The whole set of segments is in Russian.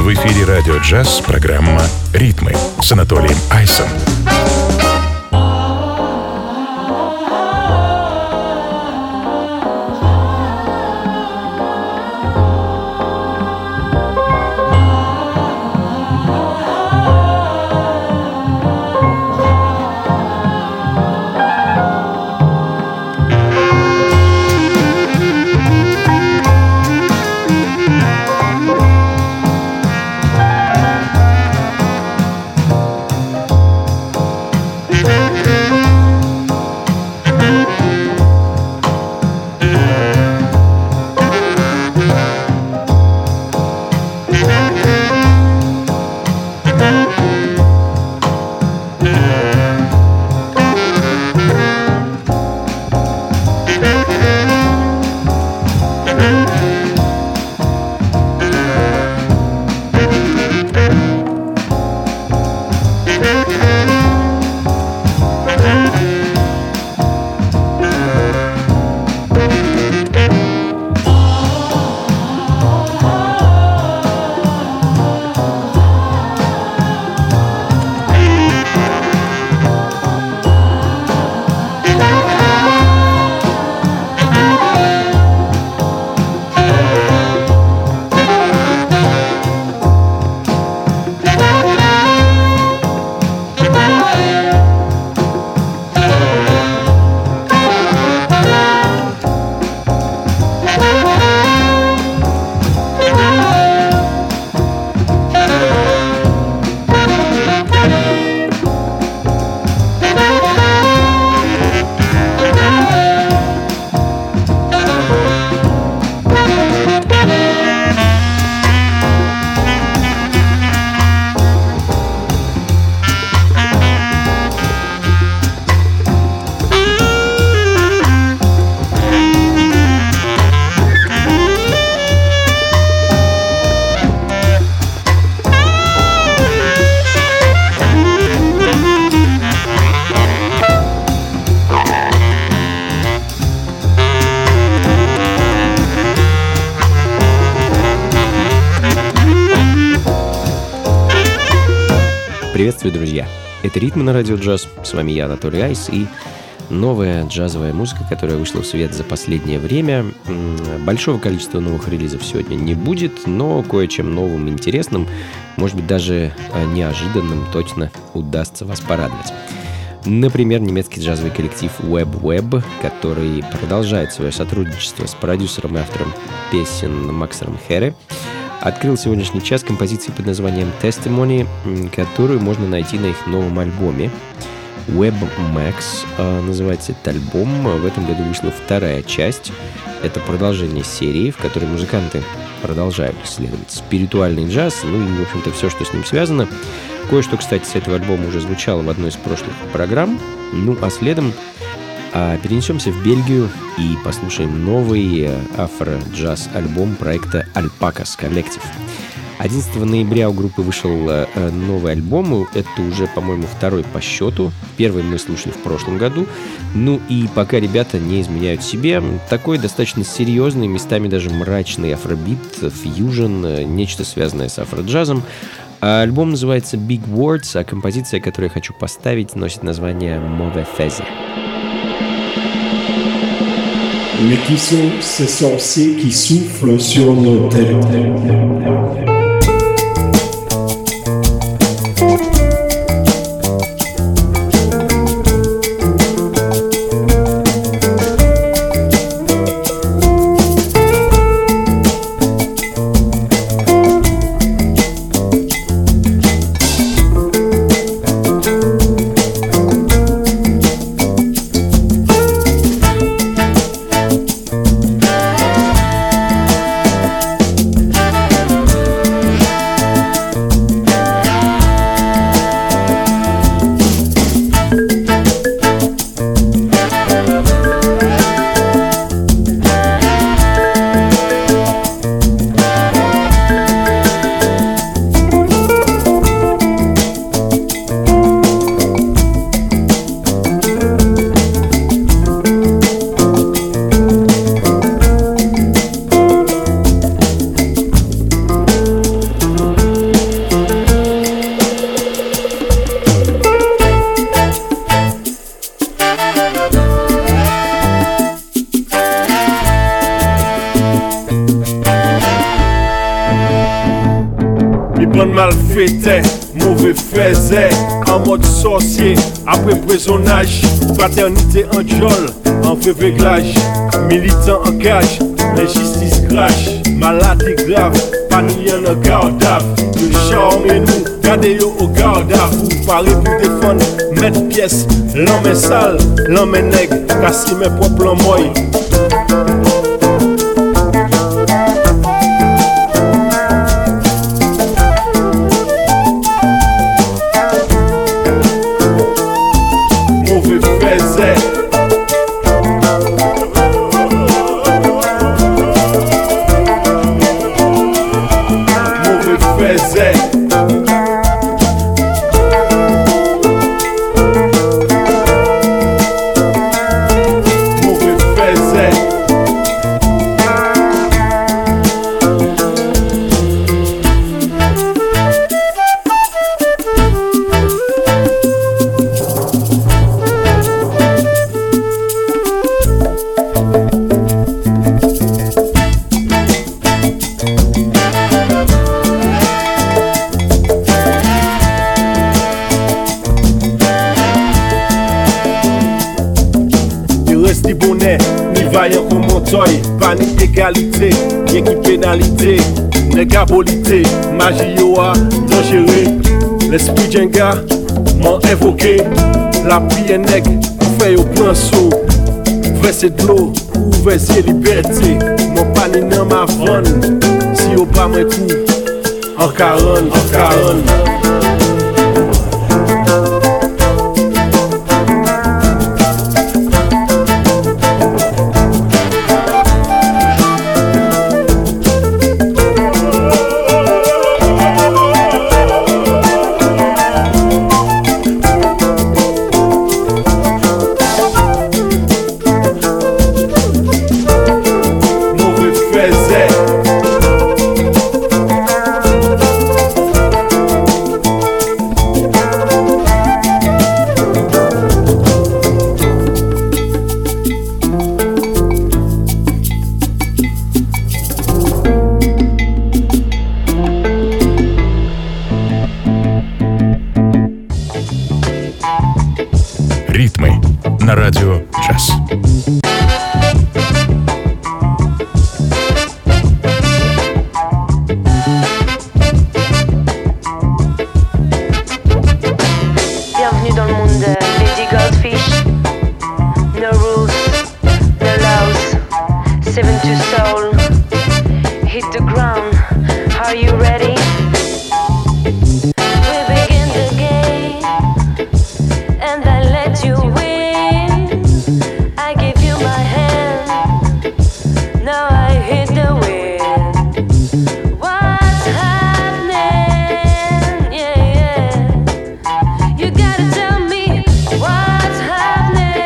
В эфире «Радио Джаз» программа «Ритмы» с Анатолием Айсом. Приветствую, друзья! Это «Ритмы» на радио джаз. С вами я, Анатолий Айс, и новая джазовая музыка, которая вышла в свет за последнее время. Большого количества новых релизов сегодня не будет, но кое-чем новым и интересным, может быть, даже неожиданным, точно удастся вас порадовать. Например, немецкий джазовый коллектив Web, который продолжает свое сотрудничество с продюсером и автором песен Максом Хере, открыл сегодняшний час композиции под названием Testimony, которую можно найти на их новом альбоме. Web Max называется этот альбом. В этом году вышла вторая часть. Это продолжение серии, в которой музыканты продолжают исследовать спиритуальный джаз, ну и, в общем-то, все, что с ним связано. Кое-что, кстати, с этого альбома уже звучало в одной из прошлых программ. Ну, а следом перенесемся в Бельгию и послушаем новый афро-джаз-альбом проекта Alpacas Collective. 11 ноября у группы вышел новый альбом. Это уже, по-моему, второй по счету. Первый мы слушали в прошлом году. Ну и пока ребята не изменяют себе, такой достаточно серьезный, местами даже мрачный афробит, фьюжн, нечто связанное с афро-джазом. Альбом называется Big Words, а композиция, которую я хочу поставить, носит название Mauvais Faiser. Mais qui sont ces sorciers qui soufflent sur nos têtes? Mi bonne mal fêtait, mauvais faisait, en mode sorcier, après prisonnage, fraternité en jol, en vrai réglage, militant en cage, l'injustice crash, maladie grave, panouillon en garde à vue, le charme et nous, gardez yo au garde à vous, paré pour défendre, mettre pièce, l'homme est sale, l'homme est nègre, casser mes propres l'emmoy. Panique égalité, bien qui pénalité, négabolité, magie yoa, dangereux. L'esprit Jenga m'a évoqué, la prière nègre, fait au plan saut. Verser de l'eau, ouvrir liberté, mon panier dans ma vanne. Si au pas mes coups, en 40, en 40. Ритмы на радио «Джаз». Bienvenue dans le monde de Lady Goldfish. No rules, no laws. 7-2 soul. Hit the ground. Are you ready? We begin the game, and I let you win. I give you my hand. Now I hit the wind. What's happening? Yeah, yeah. You gotta tell me what's happening.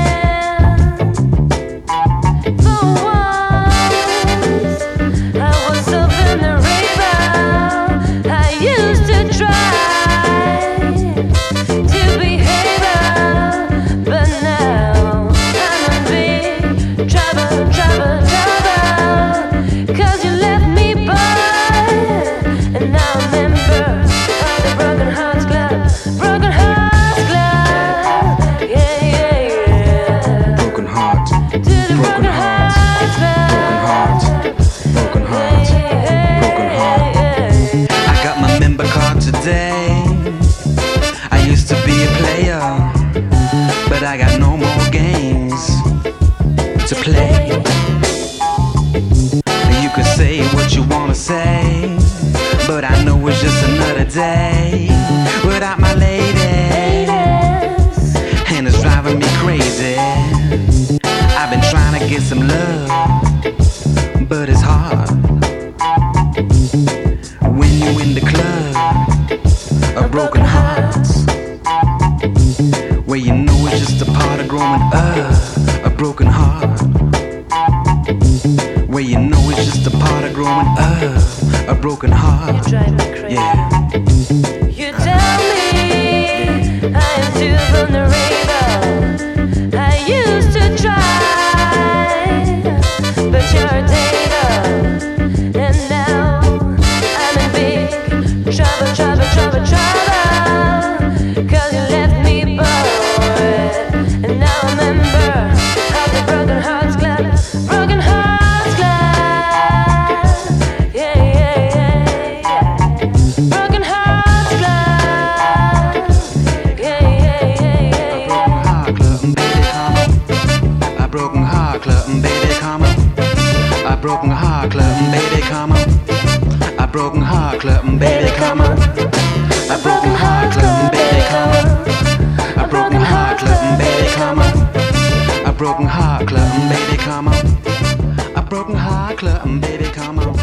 For once, I was so vulnerable. I used to try to behave, but now I'm in big trouble, trouble, trouble. 'Cause you left me by, and now I'm a member of the Broken Hearts Club. Broken Hearts Club. Yeah, yeah, yeah. Broken heart, To the Broken Hearts Club. broken heart, broken heart. I got my member card today. I used to be a player, but I got no more games to play. You could say what you wanna say, but I know it's just another day without my lady, and it's driving me crazy. I've been trying to get some love, but it's hard when you in the club of broken hearts, where you know it's just a part of growing up. A broken heart, where you know it's just a part of growing up. A broken You heart, drive me crazy. yeah. You tell me I am too vulnerable. I used to try, but you're a data. And now I'm in big broken heart club, baby, come on. A broken heart club, baby, come on. A broken heart club, baby, come on. A broken heart club, baby, come on. A broken heart club, baby, come on.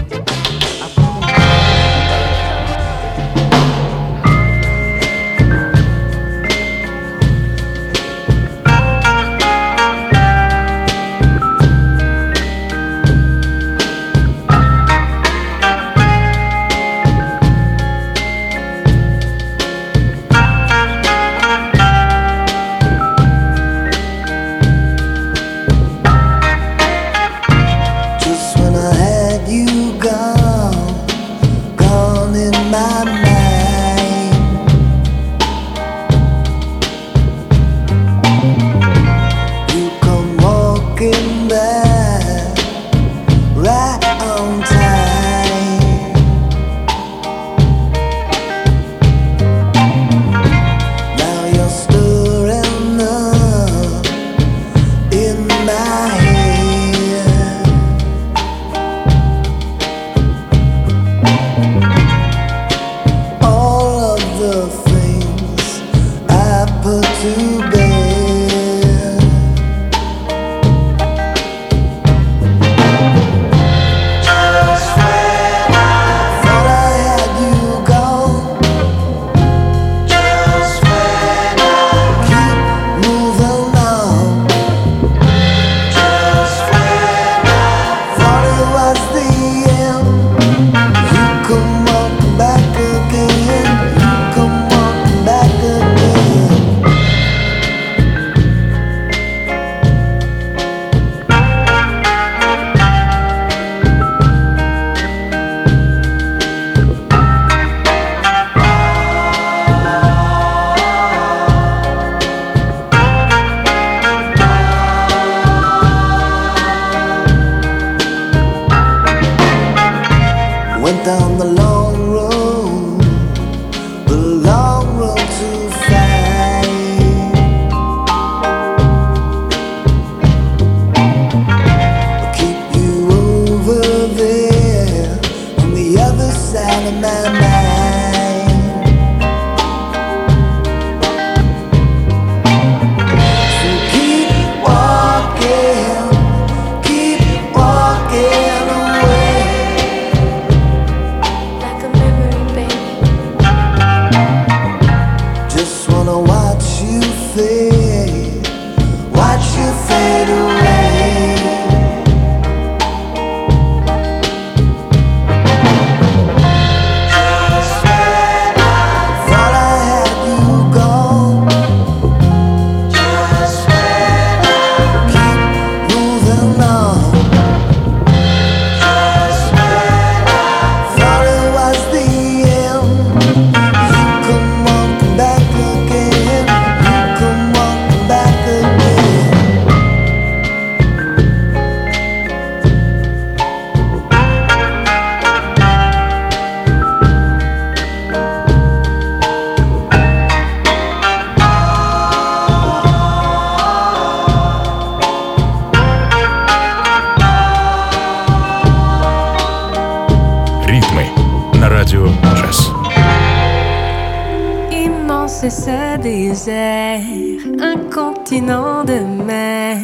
C'est ce désert, un continent de mer,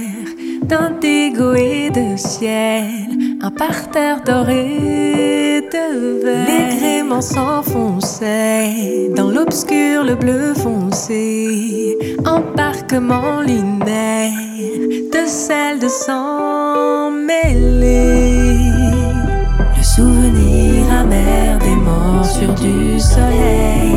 d'indigo et de ciel, un parterre doré de verre. Les gréements s'enfonçaient dans l'obscur, le bleu foncé, embarquement lunaire de sel, de sang mêlé. Le souvenir amer des morsures du soleil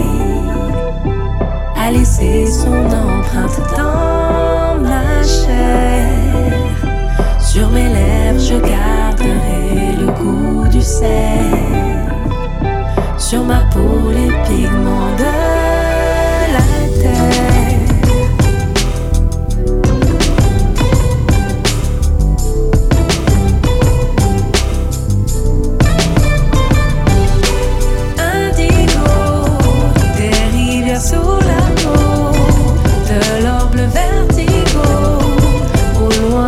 a laissé son empreinte dans ma chair. Sur mes lèvres, je garderai le goût du sel. Sur ma peau, les pigments de la terre.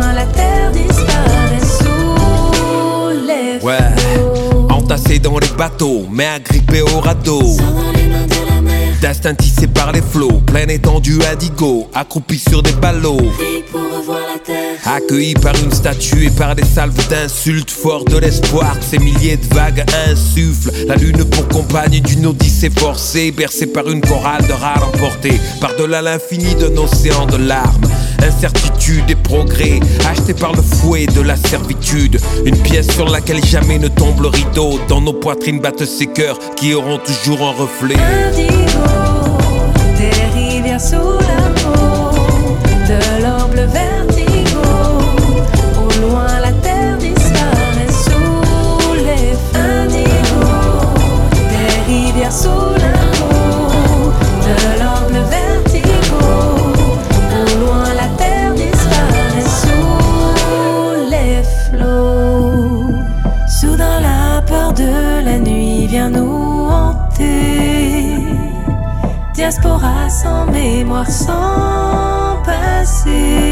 Dans les bateau, mais agrippé au radeau. Destin tissé par les flots, pleine étendue indigo, accroupi sur des ballots. Accueilli par une statue et par des salves d'insultes, fort de l'espoir que ces milliers de vagues insufflent. La lune pour compagne d'une odyssée forcée, bercée par une chorale de rats emportés par-delà l'infini d'un océan de larmes. Incertitude et progrès, achetés par le fouet de la servitude. Une pièce sur laquelle jamais ne tombe le rideau. Dans nos poitrines battent ces cœurs qui auront toujours un reflet. Indigo, des rivières sous la peau, de l'or bleu vertigo. Au loin la terre disparaît sous les feux. Indigo, des rivières sous la peau, de l'or bleu vertigo. Au loin la terre disparaît sous les flots. Soudain la peur de la nuit vient nous hanter. Diaspora sans mémoire, sans passé.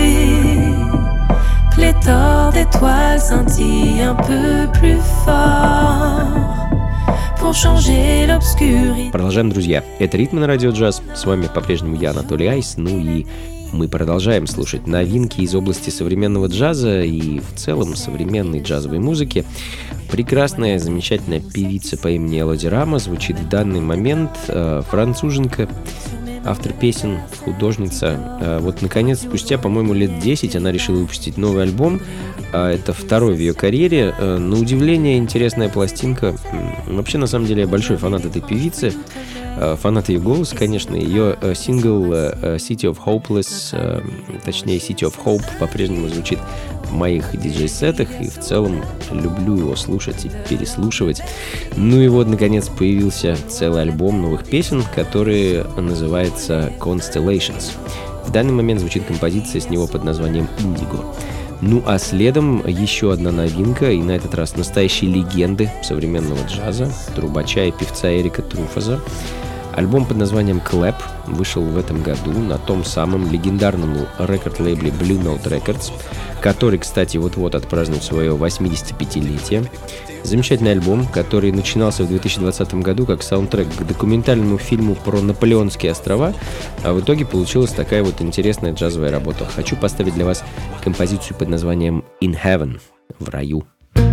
Pléthore d'étoiles scintille un peu plus fort pour changer l'obscurité. Продолжаем, друзья. Это «Ритмы» на Радио Джаз. С вами по-прежнему я, Анатолий Айс. Ну и мы продолжаем слушать новинки из области современного джаза и в целом современной джазовой музыки. Прекрасная, замечательная певица по имени Элоди Рама звучит в данный момент. Француженка, автор песен, художница. Вот, наконец, спустя, по-моему, лет 10 она решила выпустить новый альбом. Это второй в ее карьере. На удивление, интересная пластинка. Вообще, на самом деле, я большой фанат этой певицы. Фанат ее голоса, конечно. Ее сингл City of Hopeless, точнее City of Hope, по-прежнему звучит в моих диджей-сетах. И в целом люблю его слушать и переслушивать. Ну и вот, наконец, появился целый альбом новых песен, который называется Constellations. В данный момент звучит композиция с него под названием Indigo. Ну а следом еще одна новинка, и на этот раз настоящие легенды современного джаза, трубача и певца Эрика Труфаза. Альбом под названием Clap вышел в этом году на том самом легендарном рекорд-лейбле Blue Note Records, который, кстати, вот-вот отпразднует свое 85-летие. Замечательный альбом, который начинался в 2020 году как саундтрек к документальному фильму про Наполеонские острова, а в итоге получилась такая вот интересная джазовая работа. Хочу поставить для вас композицию под названием In Heaven, в раю.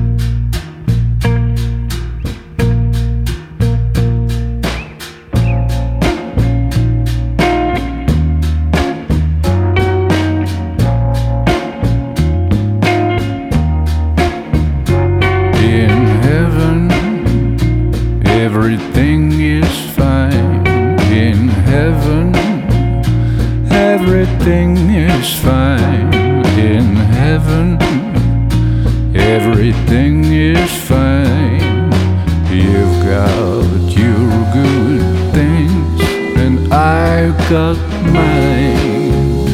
Everything is fine in heaven. Everything is fine in heaven. Everything is fine. You've got your good things, and I've got mine.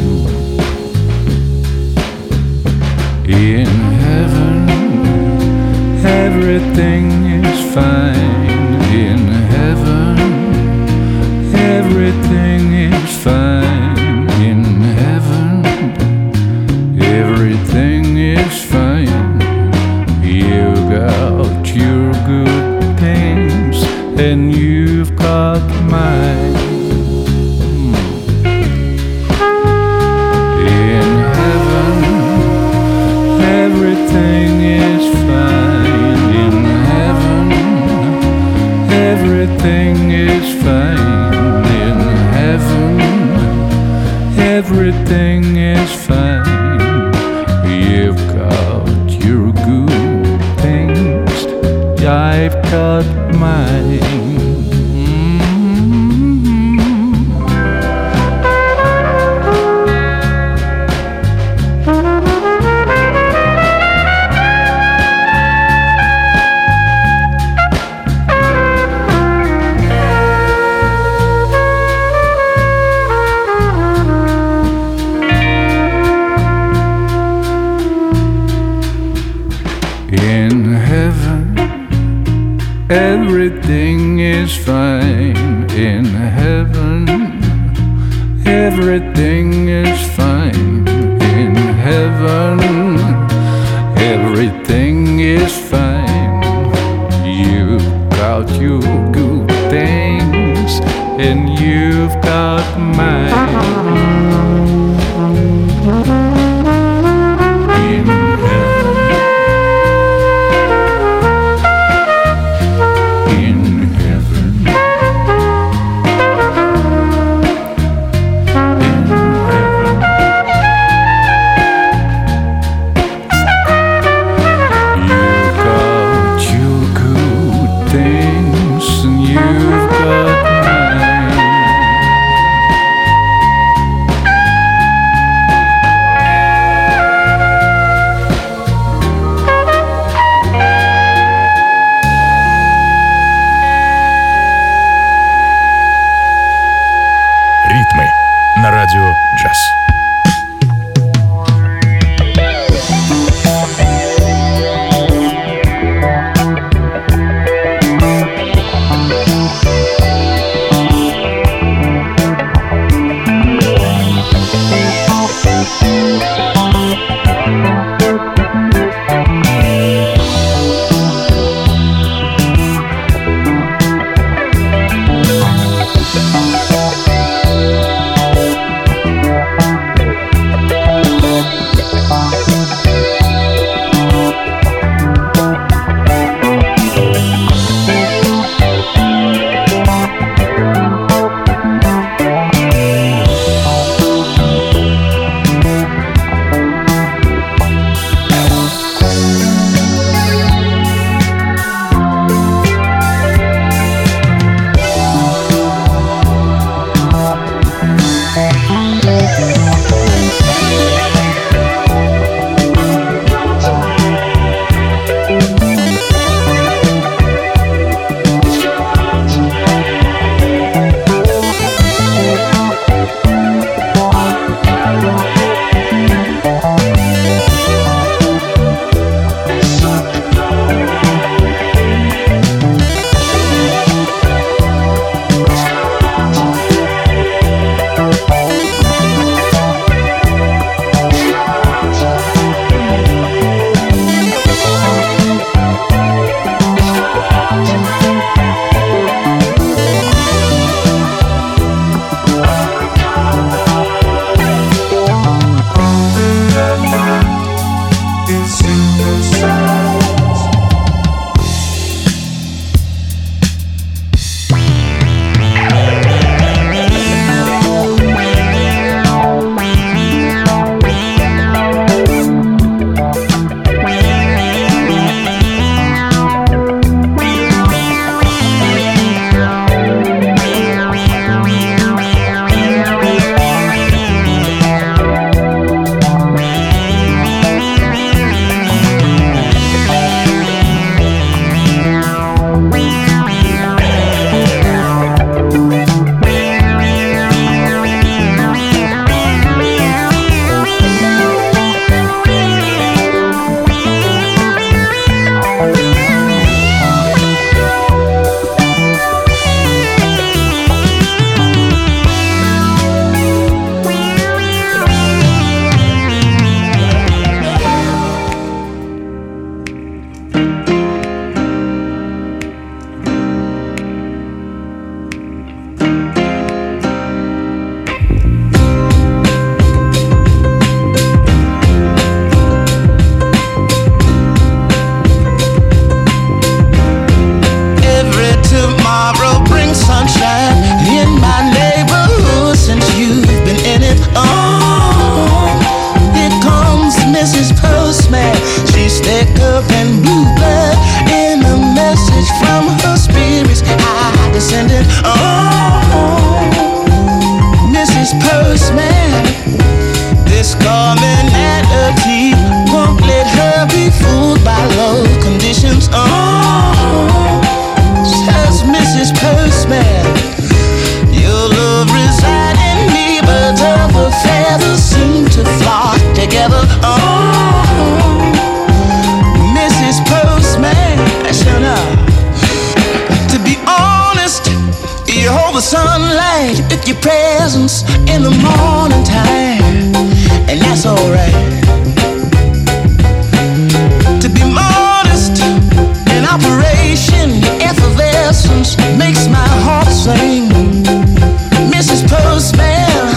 In heaven, everything is fine. In heaven, everything is fine. In heaven, everything is fine. You got your good things, and you've got mine. In heaven, everything is fine. In heaven, everything is fine. In heaven, everything is fine. You've got your good things, I've got mine. In heaven, everything is fine. In heaven, everything is fine. In heaven, everything is fine. You've got your good things, and you've got mine. In heaven, in heaven, in heaven, you've got your good things, and you've got mine. Ритмы на радио «Джаз». Your presence in the morning time, and that's alright. To be modest in operation, your effervescence effervescence makes my heart sing. Mrs. Postman,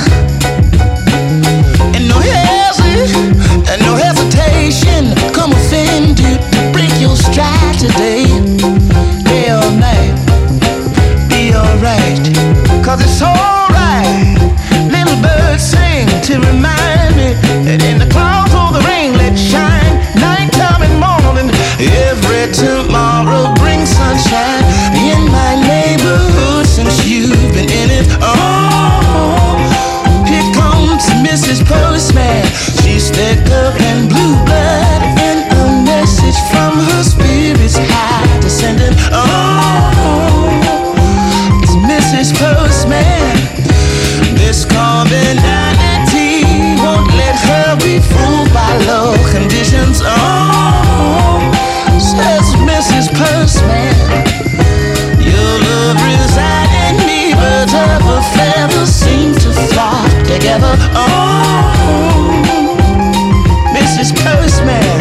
and no hesitation, come offend you to break your stride today. Day or night, be alright, 'cause it's alright. Little birds sing to remind me that in the clouds or the rain, let shine. Nighttime and morning, every tomorrow brings sunshine in my neighborhood since you've been in it. Oh, here comes Mrs. Postman. She's thicker than blue blood, and a message from her spirit's high descending. Oh, it's Mrs. Postman. This commonality won't let her be fooled by low conditions. Oh, says Mrs. Postman, your love resides in me, birds of a feather seem to flock together. Oh, Mrs. Postman,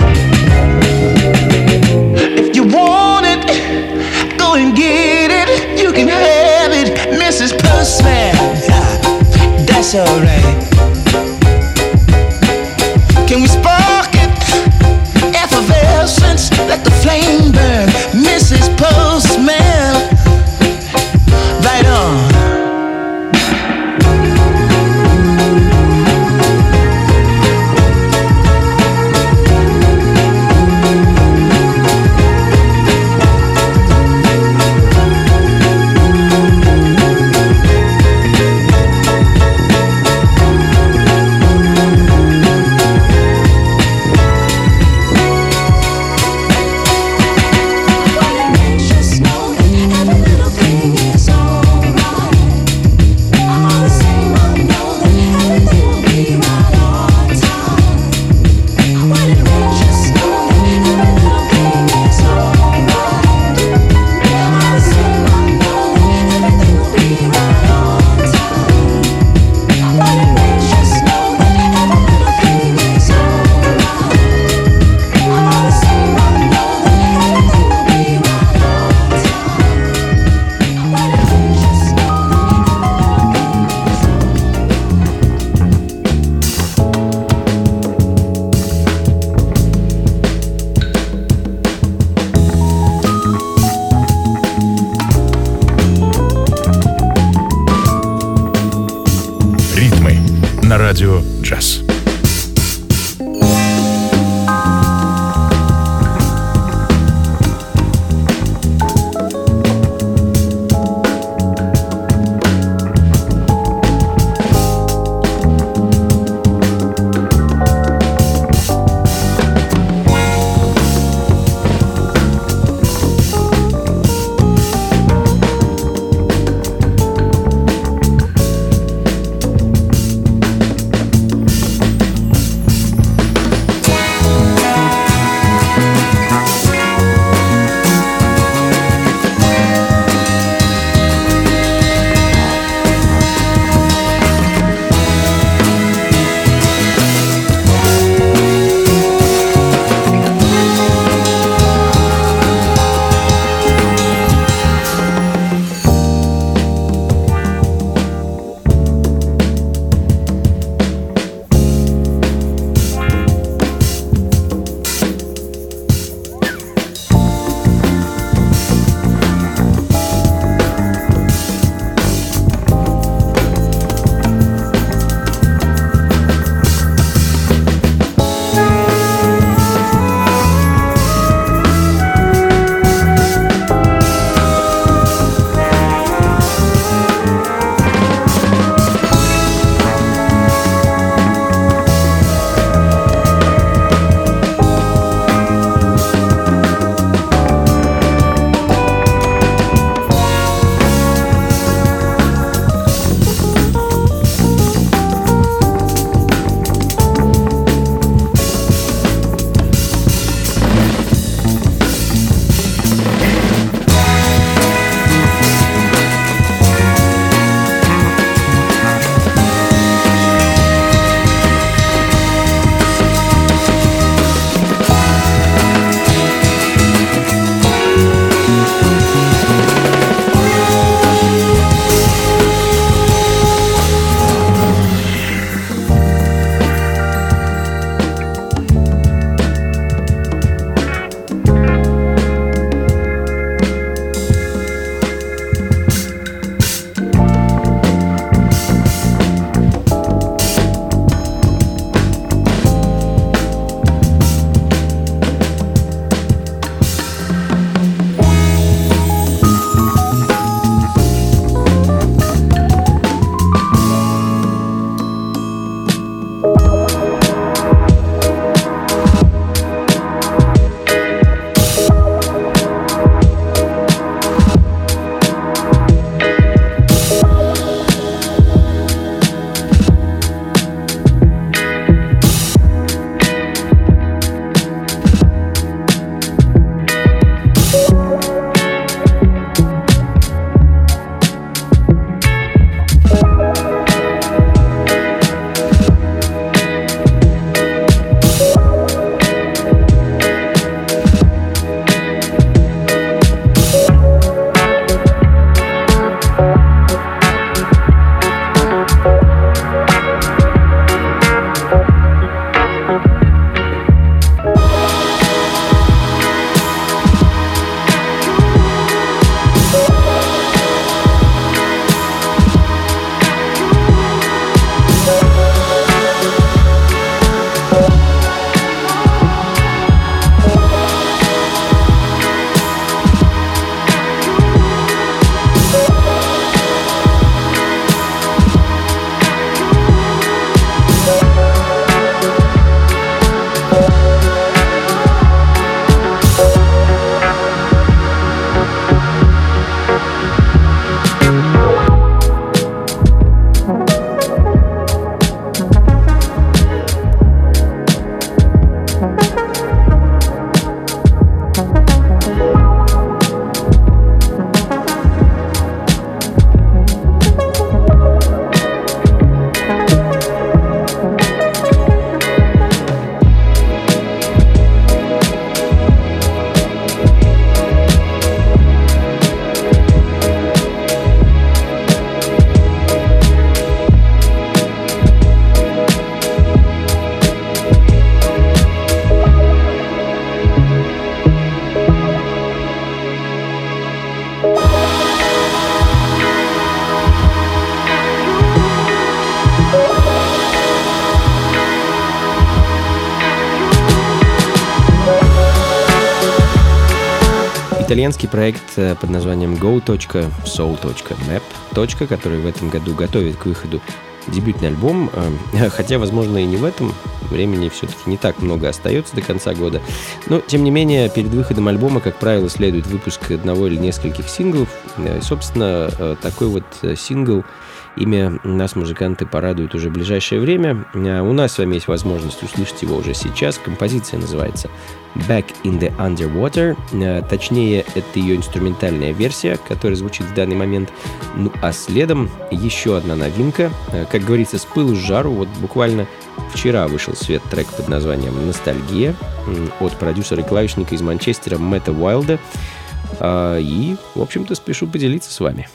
if you want it, go and get it. You can have it, Mrs. Postman. That's alright. Can we spark it? Effervescence, let the flame burn. Mrs. Postman, right on. Радио Джаз. итальянский проект под названием go.soul.map, который в этом году готовит к выходу дебютный альбом, хотя, возможно, и не в этом. Времени все-таки не так много остается до конца года. Но, тем не менее, перед выходом альбома, как правило, следует выпуск одного или нескольких синглов. И, собственно, такой вот сингл, имя нас музыканты порадуют уже в ближайшее время. У нас с вами есть возможность услышать его уже сейчас. Композиция называется Back in the Underwater. Точнее, это ее инструментальная версия, которая звучит в данный момент. Ну а следом еще одна новинка. Как говорится, с пылу с жару. Вот буквально вчера вышел в свет трек под названием «Ностальгия» от продюсера и клавишника из Манчестера Мэтта Уайлда. И, в общем-то, спешу поделиться с вами.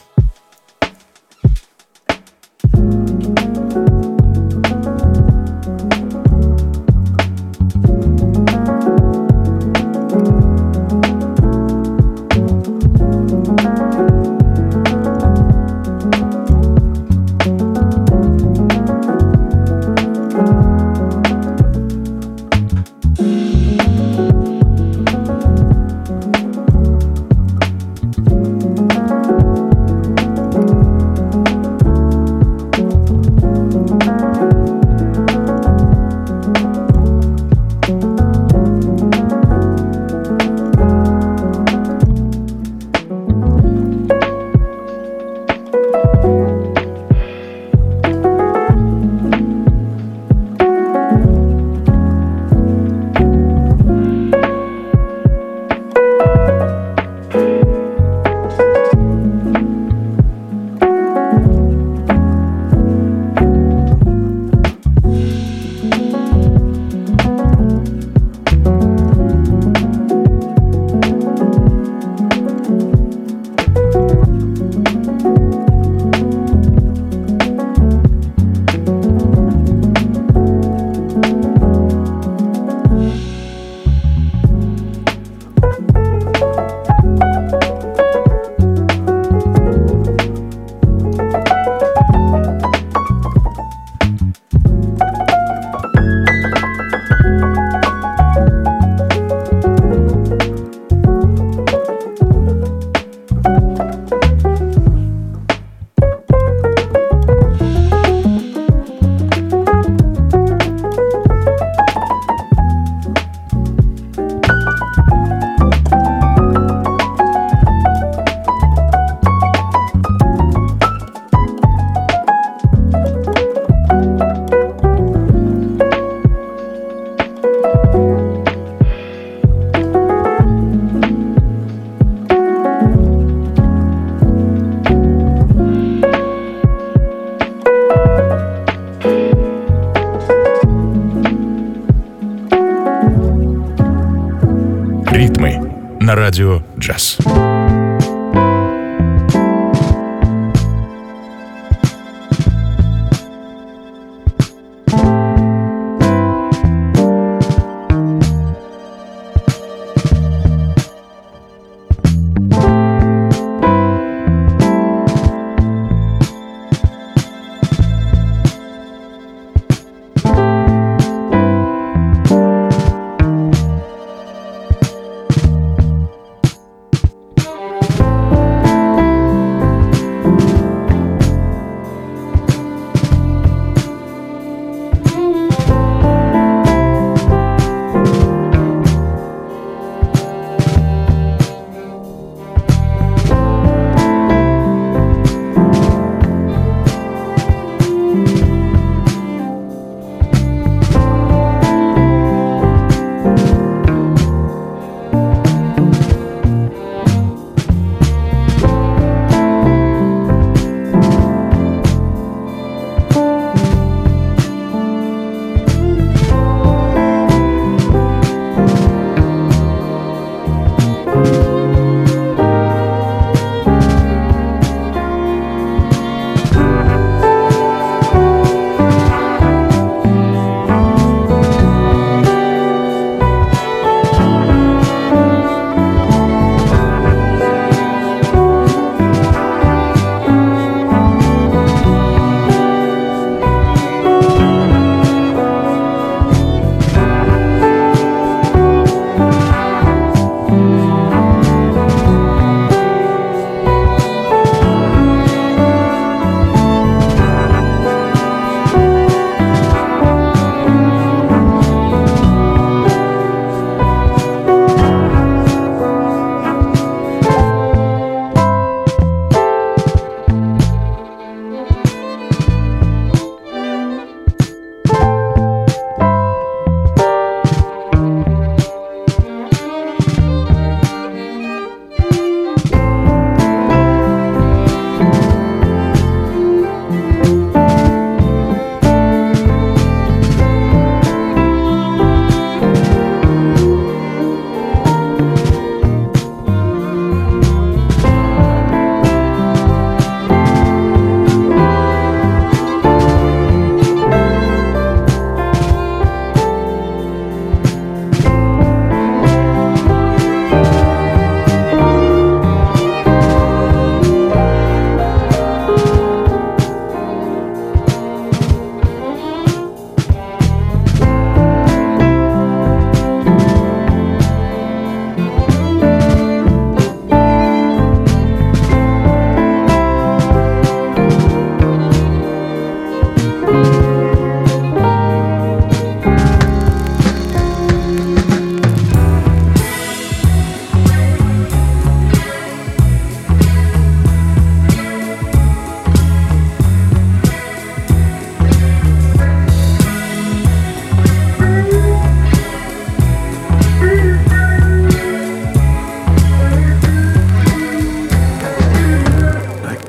на радио «Джаз».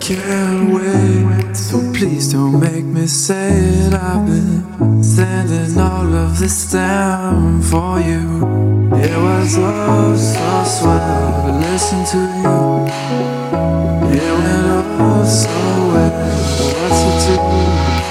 can't wait, so please don't make me say it. I've been sending all of this down for you. It was all so swell to listen to you. It went all so well, what's it to do?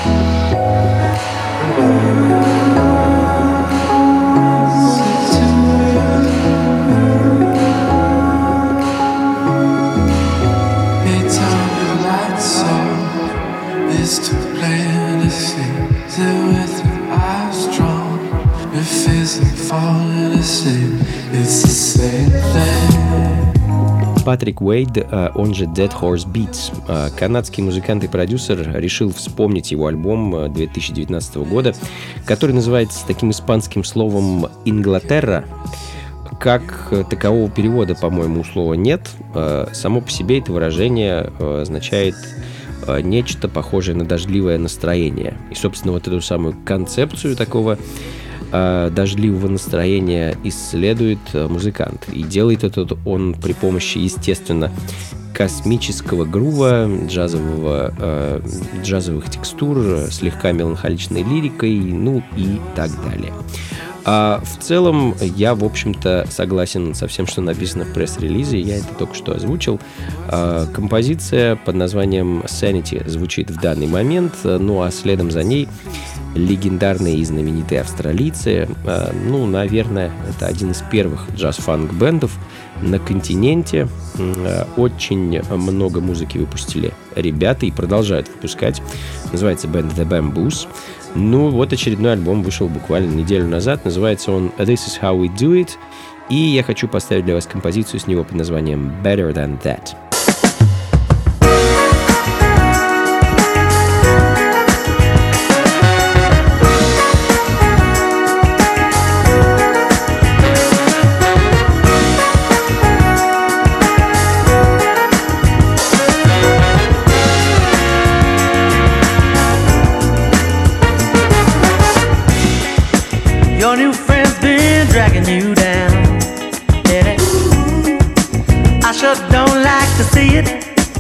To fantasy, with your eyes strong. If isn't falling asleep, it's the same thing. Патрик Уэйд, он же Dead Horse Beats, канадский музыкант и продюсер, решил вспомнить его альбом 2019 года, который называется таким испанским словом «Инглатерра». Как такового перевода, по-моему, у слова нет. Само по себе это выражение означает нечто похожее на дождливое настроение. И, собственно, вот эту самую концепцию такого дождливого настроения исследует музыкант. И делает это он при помощи, естественно, космического грува, джазовых текстур, слегка меланхоличной лирикой, ну и так далее. А в целом я, в общем-то, согласен со всем, что написано в пресс-релизе, я это только что озвучил. Композиция под названием Sanity звучит в данный момент, ну а следом за ней легендарные и знаменитые австралийцы. Ну, наверное, это один из первых джаз-фанк-бендов на континенте. Очень много музыки выпустили ребята и продолжают выпускать. Называется бенд The Bamboos. Ну, вот очередной альбом вышел буквально неделю назад. Называется он This Is How We Do It. И я хочу поставить для вас композицию с него под названием Better Than That. Your new friend's been dragging you down, yeah. I sure don't like to see it.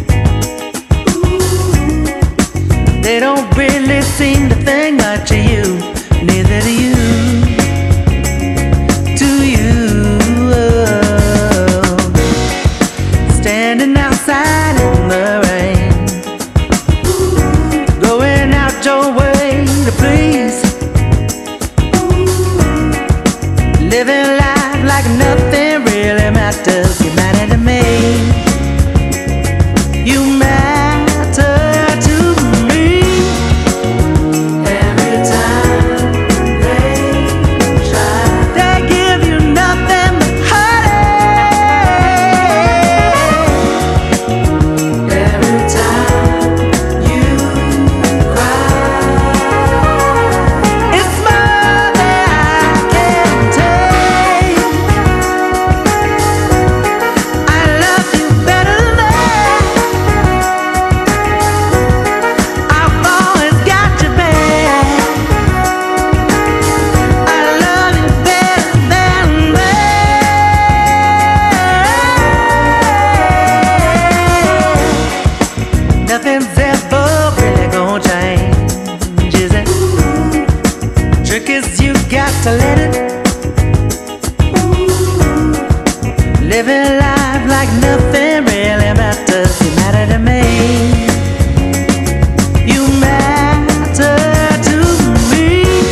They don't really seem to think much of you, neither do you. Do you? Standing outside in the rain, going out your way to please. Living life like nothing really matters. You matter to me. You matter to me. Every time they try, they give you nothing but heartache. Every time you cry, it's more than I can take. I love you better than that. I've always got your back. I love you better than that. Nothing's ever really gonna change, is it? Trick is you got to let it. Living life like nothing really matters. You matter to me. You matter to me.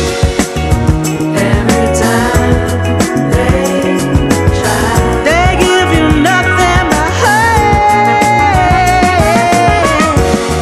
Every time they try, they give you nothing but hate.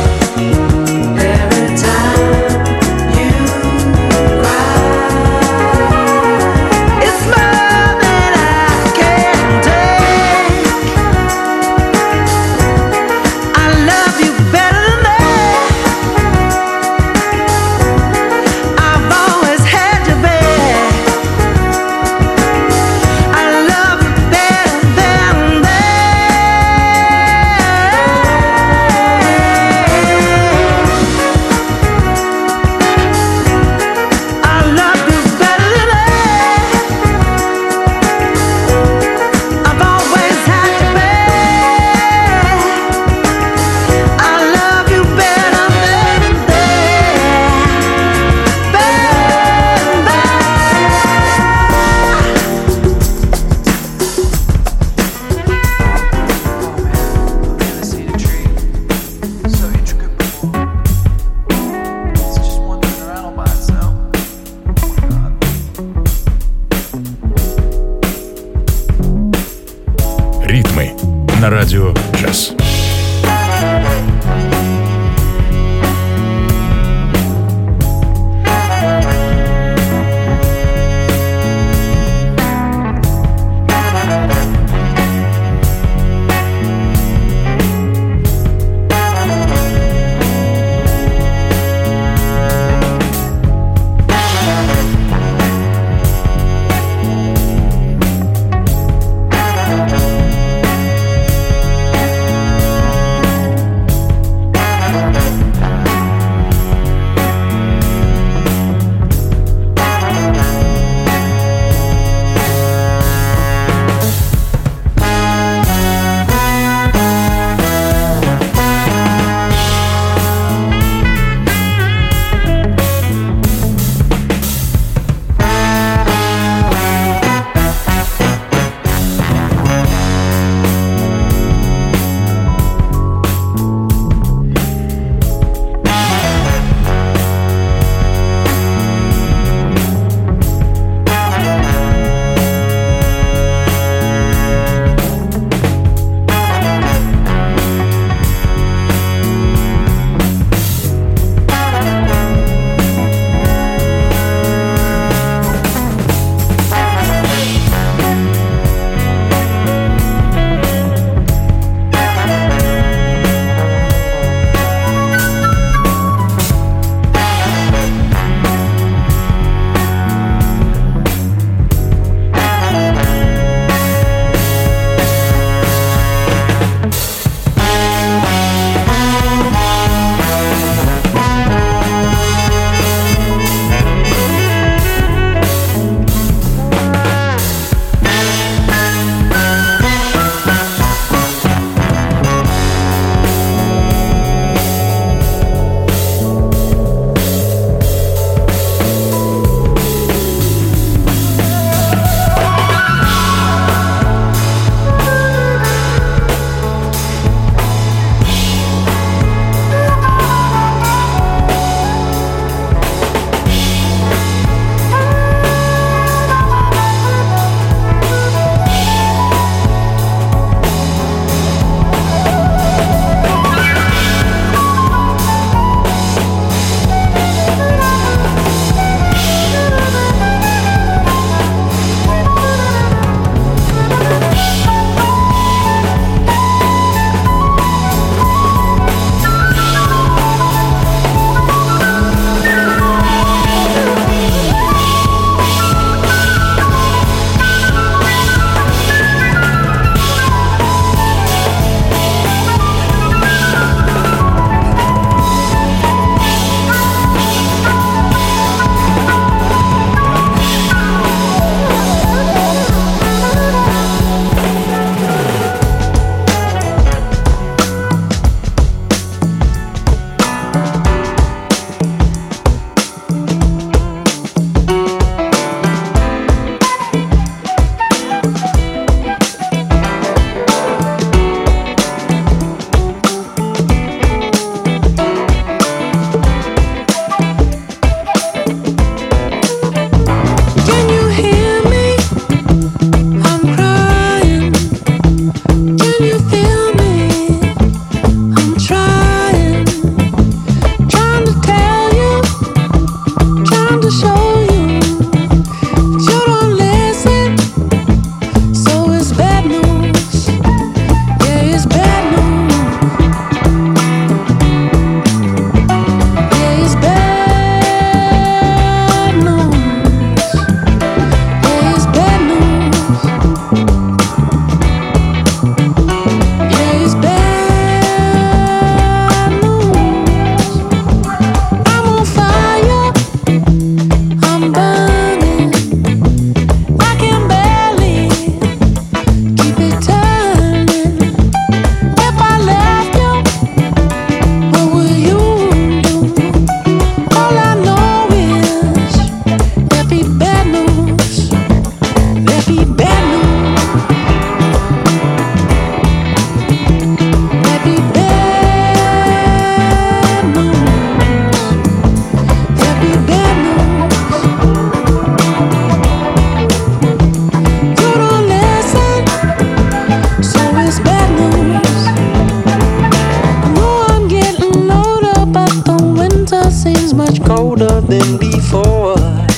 been before.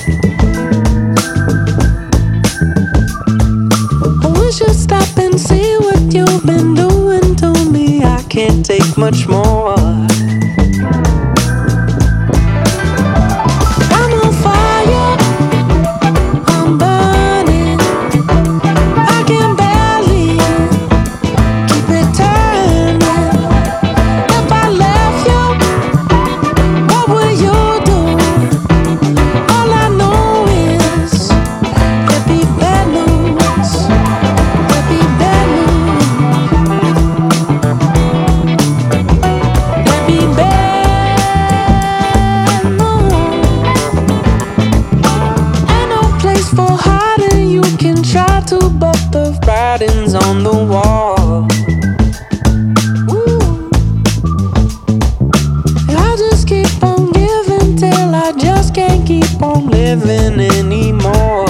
I wish you'd stop and see what you've been doing to me. I can't take much more. I'm on fire, I'm burning. I can barely keep it turning. If I left you, what would you do? All I know is there'd be bad news. There'd be bad news. There'd be bad news. Ain't no place for hiding. You can try to, but the writing's on the wall. Ooh. I just keep on giving till I just can't keep on living anymore.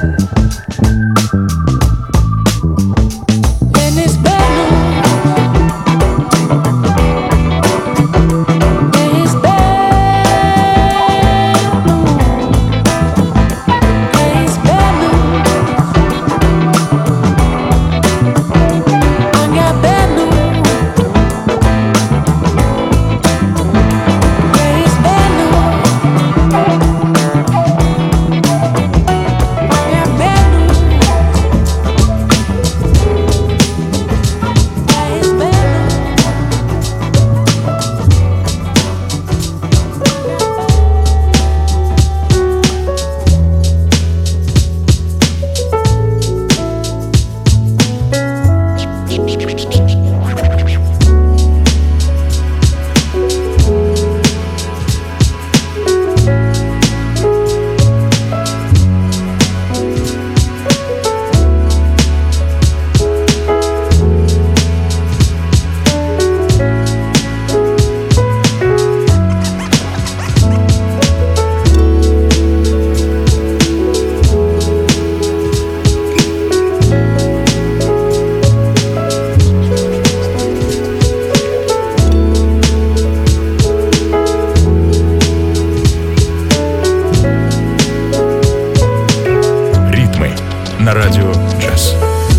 And it's bad news. And it's bad news. And it's bad news. I got bad news. And it's bad news. I got bad news. And it's bad news. Ритмы на радио джаз.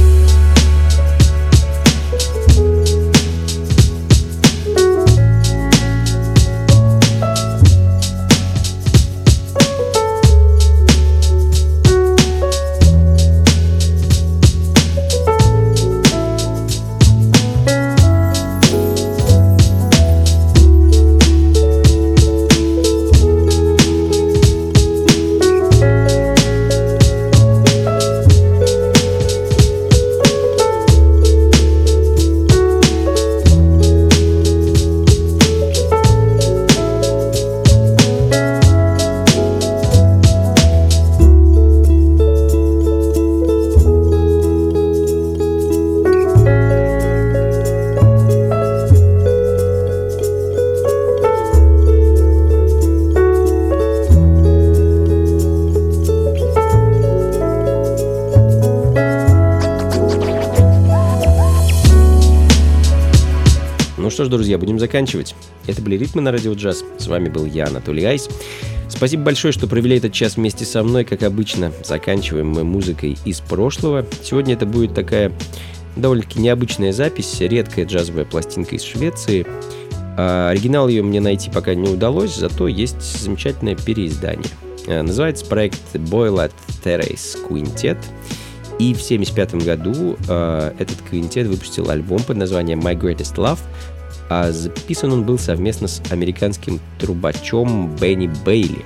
Ну что ж, друзья, будем заканчивать. Это были «Ритмы» на радио джаз. С вами был я, Анатолий Айс. Спасибо большое, что провели этот час вместе со мной. Как обычно, заканчиваем мы музыкой из прошлого. Сегодня это будет такая довольно-таки необычная запись, редкая джазовая пластинка из Швеции. Оригинал ее мне найти пока не удалось, зато есть замечательное переиздание. Называется проект Boylat Terrace Quintet. И в 1975 году этот квинтет выпустил альбом под названием My Greatest Love, а записан он был совместно с американским трубачом Бенни Бейли.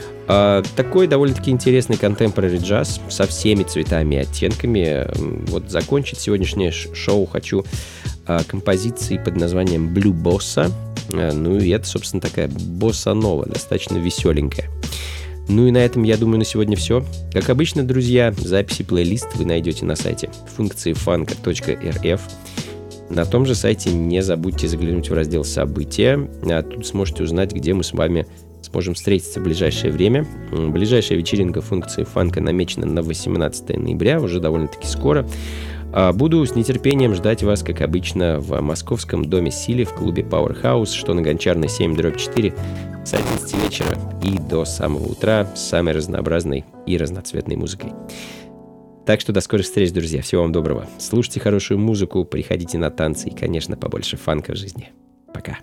Такой довольно-таки интересный contemporary джаз со всеми цветами и оттенками. Вот закончить сегодняшнее шоу хочу композицией под названием Blue Bossa. Ну и это, собственно, такая босса-нова, достаточно веселенькая. Ну и на этом, я думаю, на сегодня все. Как обычно, друзья, записи плейлист вы найдете на сайте funkcifunk.rf. На том же сайте не забудьте заглянуть в раздел «События». Тут сможете узнать, где мы с вами сможем встретиться в ближайшее время. Ближайшая вечеринка функции фанка намечена на 18 ноября, уже довольно-таки скоро. Буду с нетерпением ждать вас, как обычно, в Московском доме Сили в клубе Powerhouse, что на Гончарной 7/4 с 11 вечера и до самого утра с самой разнообразной и разноцветной музыкой. Так что до скорых встреч, друзья. Всего вам доброго. Слушайте хорошую музыку, приходите на танцы и, конечно, побольше фанка в жизни. Пока.